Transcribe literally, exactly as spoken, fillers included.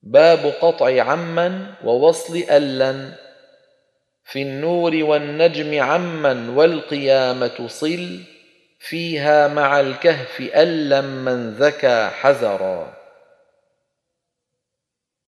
باب قطع عمن ووصل ألا. في النور والنجم عمن والقيامة صل، فيها مع الكهف ألا من ذكى حذرا.